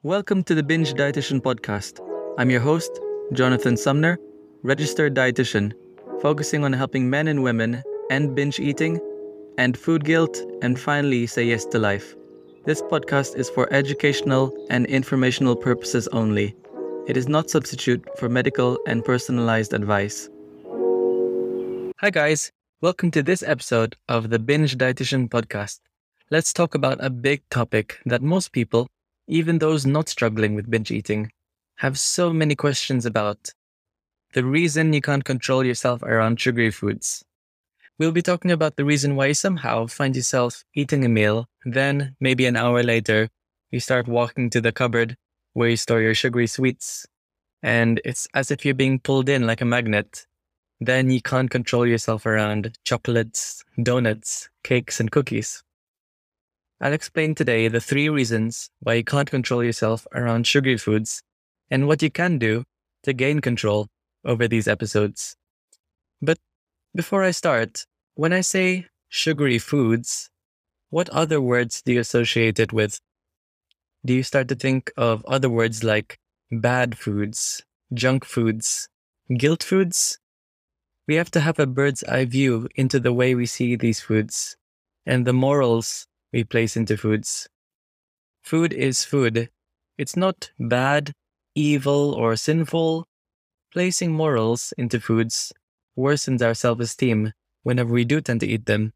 Welcome to the Binge Dietitian Podcast. I'm your host, Jonathan Sumner, registered dietitian, focusing on helping men and women end binge eating, end food guilt, and finally say yes to life. This podcast is for educational and informational purposes only. It is not substitute for medical and personalized advice. Hi guys, welcome to this episode of the Binge Dietitian Podcast. Let's talk about a big topic that most people, even those not struggling with binge eating, have so many questions about. The reason you can't control yourself around sugary foods. We'll be talking about the reason why you somehow find yourself eating a meal, then maybe an hour later, you start walking to the cupboard where you store your sugary sweets, and it's as if you're being pulled in like a magnet. Then you can't control yourself around chocolates, donuts, cakes, and cookies. I'll explain today the 3 reasons why you can't control yourself around sugary foods and what you can do to gain control over these episodes. But before I start, when I say sugary foods, what other words do you associate it with? Do you start to think of other words like bad foods, junk foods, guilt foods? We have to have a bird's eye view into the way we see these foods and the morals we place into foods. Food is food. It's not bad, evil, or sinful. Placing morals into foods worsens our self-esteem whenever we do tend to eat them.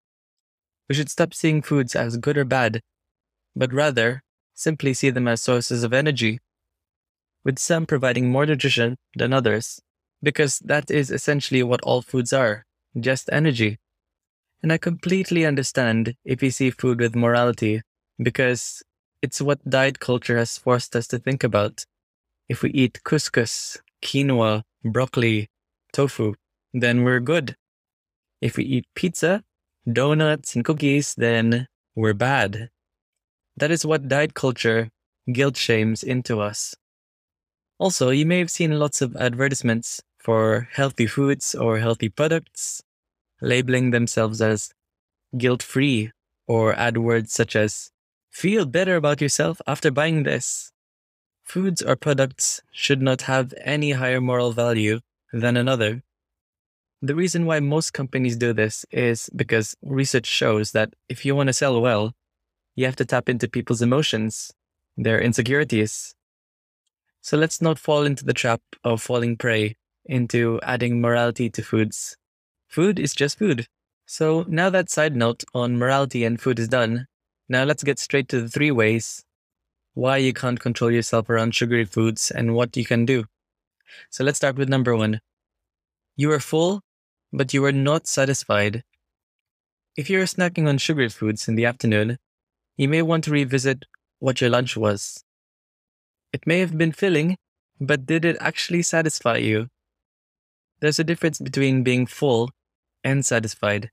We should stop seeing foods as good or bad, but rather simply see them as sources of energy, with some providing more nutrition than others, because that is essentially what all foods are, just energy. And I completely understand if you see food with morality, because it's what diet culture has forced us to think about. If we eat couscous, quinoa, broccoli, tofu, then we're good. If we eat pizza, donuts, and cookies, then we're bad. That is what diet culture guilt shames into us. Also, you may have seen lots of advertisements for healthy foods or healthy products, labeling themselves as guilt-free, or add words such as, feel better about yourself after buying this. Foods or products should not have any higher moral value than another. The reason why most companies do this is because research shows that if you want to sell well, you have to tap into people's emotions, their insecurities. So let's not fall into the trap of falling prey into adding morality to foods. Food is just food. So now that side note on morality and food is done, now let's get straight to the 3 ways why you can't control yourself around sugary foods and what you can do. So let's start with number 1. You are full, but you are not satisfied. If you're snacking on sugary foods in the afternoon, you may want to revisit what your lunch was. It may have been filling, but did it actually satisfy you? There's a difference between being full and satisfied.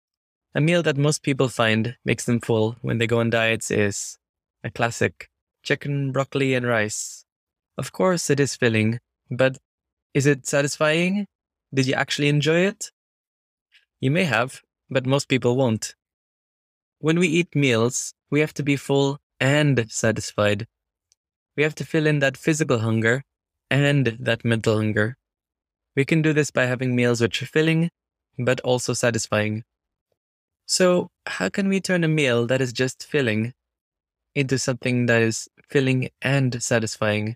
A meal that most people find makes them full when they go on diets is a classic chicken, broccoli, and rice. Of course, it is filling, but is it satisfying? Did you actually enjoy it? You may have, but most people won't. When we eat meals, we have to be full and satisfied. We have to fill in that physical hunger and that mental hunger. We can do this by having meals which are filling, but also satisfying. So, how can we turn a meal that is just filling into something that is filling and satisfying?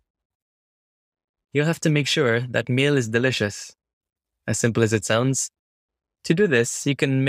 You'll have to make sure that meal is delicious, as simple as it sounds. To do this, you can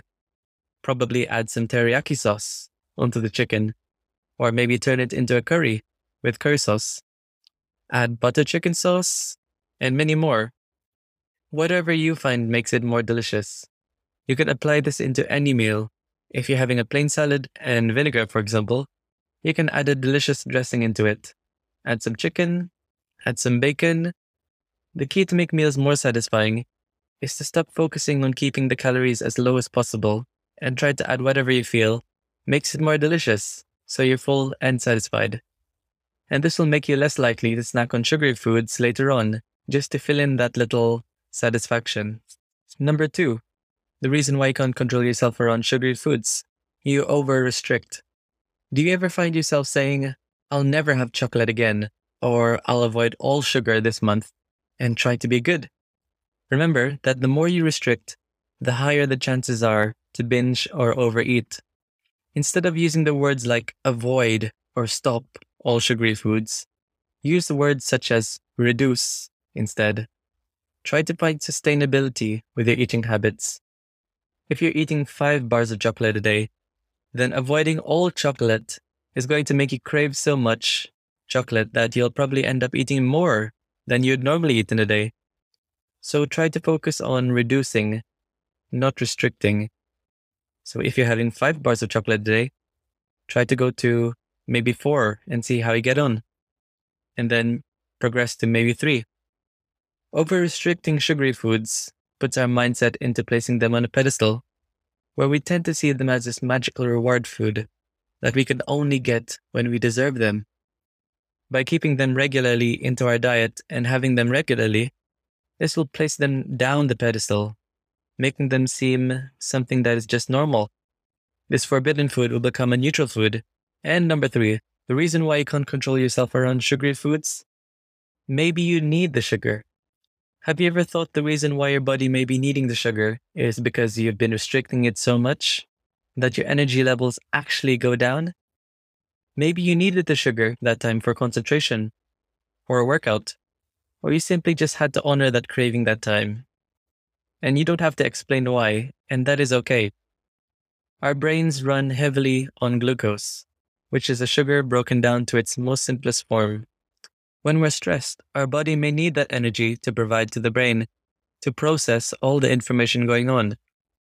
probably add some teriyaki sauce onto the chicken, or maybe turn it into a curry with curry sauce. Add butter chicken sauce, and many more. Whatever you find makes it more delicious. You can apply this into any meal. If you're having a plain salad and vinegar, for example, you can add a delicious dressing into it. Add some chicken, add some bacon. The key to make meals more satisfying is to stop focusing on keeping the calories as low as possible and try to add whatever you feel makes it more delicious, so you're full and satisfied. And this will make you less likely to snack on sugary foods later on, just to fill in that little satisfaction. Number 2, the reason why you can't control yourself around sugary foods. You over-restrict. Do you ever find yourself saying, I'll never have chocolate again, or I'll avoid all sugar this month and try to be good. Remember that the more you restrict, the higher the chances are to binge or overeat. Instead of using the words like avoid or stop all sugary foods, use the words such as reduce instead. Try to find sustainability with your eating habits. If you're eating 5 bars of chocolate a day, then avoiding all chocolate is going to make you crave so much chocolate that you'll probably end up eating more than you'd normally eat in a day. So try to focus on reducing, not restricting. So if you're having 5 bars of chocolate a day, try to go to maybe 4 and see how you get on. And then progress to maybe 3. Over-restricting sugary foods puts our mindset into placing them on a pedestal, where we tend to see them as this magical reward food that we can only get when we deserve them. By keeping them regularly into our diet and having them regularly, this will place them down the pedestal, making them seem something that is just normal. This forbidden food will become a neutral food. And number 3, the reason why you can't control yourself around sugary foods? Maybe you need the sugar. Have you ever thought the reason why your body may be needing the sugar is because you've been restricting it so much that your energy levels actually go down? Maybe you needed the sugar that time for concentration or a workout, or you simply just had to honor that craving that time. And you don't have to explain why, and that is okay. Our brains run heavily on glucose, which is a sugar broken down to its most simplest form. When we're stressed, our body may need that energy to provide to the brain to process all the information going on.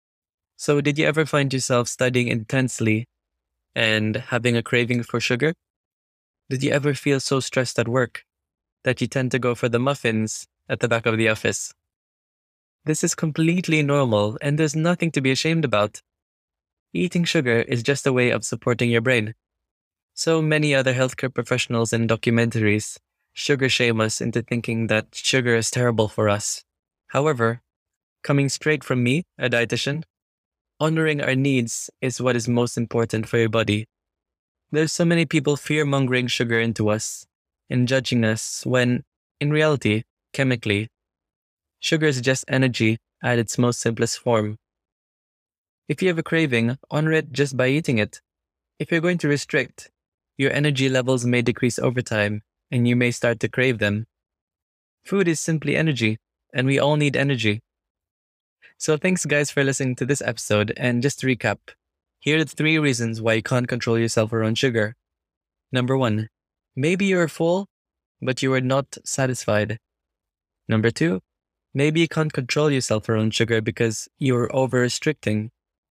So did you ever find yourself studying intensely and having a craving for sugar? Did you ever feel so stressed at work that you tend to go for the muffins at the back of the office? This is completely normal and there's nothing to be ashamed about. Eating sugar is just a way of supporting your brain. So many other healthcare professionals and documentaries sugar shame us into thinking that sugar is terrible for us. However, coming straight from me, a dietitian, honoring our needs is what is most important for your body. There's so many people fear-mongering sugar into us and judging us when, in reality, chemically, sugar is just energy at its most simplest form. If you have a craving, honor it just by eating it. If you're going to restrict, your energy levels may decrease over time, and you may start to crave them. Food is simply energy, and we all need energy. So thanks guys for listening to this episode, and just to recap, here are the 3 reasons why you can't control yourself around sugar. Number 1, maybe you are full, but you are not satisfied. Number 2, maybe you can't control yourself around sugar because you're over-restricting.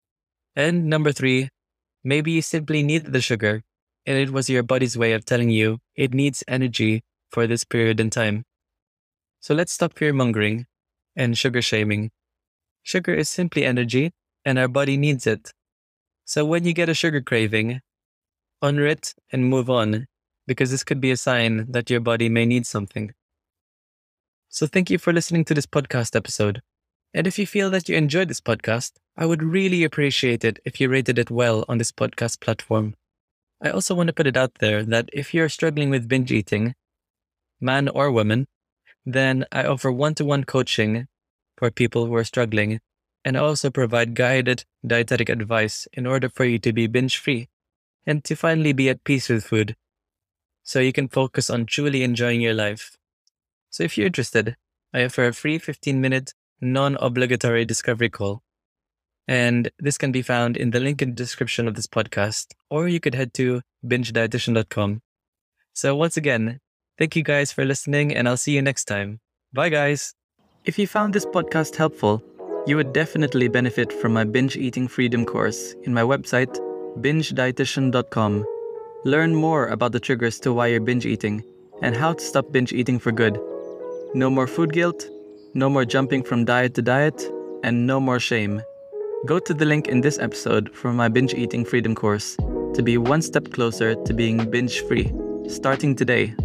And number 3, maybe you simply need the sugar, and it was your body's way of telling you it needs energy for this period in time. So let's stop fear-mongering and sugar shaming. Sugar is simply energy, and our body needs it. So when you get a sugar craving, honor it and move on, because this could be a sign that your body may need something. So thank you for listening to this podcast episode. And if you feel that you enjoyed this podcast, I would really appreciate it if you rated it well on this podcast platform. I also want to put it out there that if you're struggling with binge eating, man or woman, then I offer one-to-one coaching for people who are struggling, and I also provide guided dietetic advice in order for you to be binge-free and to finally be at peace with food, so you can focus on truly enjoying your life. So if you're interested, I offer a free 15-minute non-obligatory discovery call. And this can be found in the link in the description of this podcast, or you could head to bingedietitian.com. So once again, thank you guys for listening, and I'll see you next time. Bye guys! If you found this podcast helpful, you would definitely benefit from my Binge Eating Freedom course in my website, bingedietitian.com. Learn more about the triggers to why you're binge eating and how to stop binge eating for good. No more food guilt, no more jumping from diet to diet, and no more shame. Go to the link in this episode for my Binge Eating Freedom course to be one step closer to being binge-free, starting today.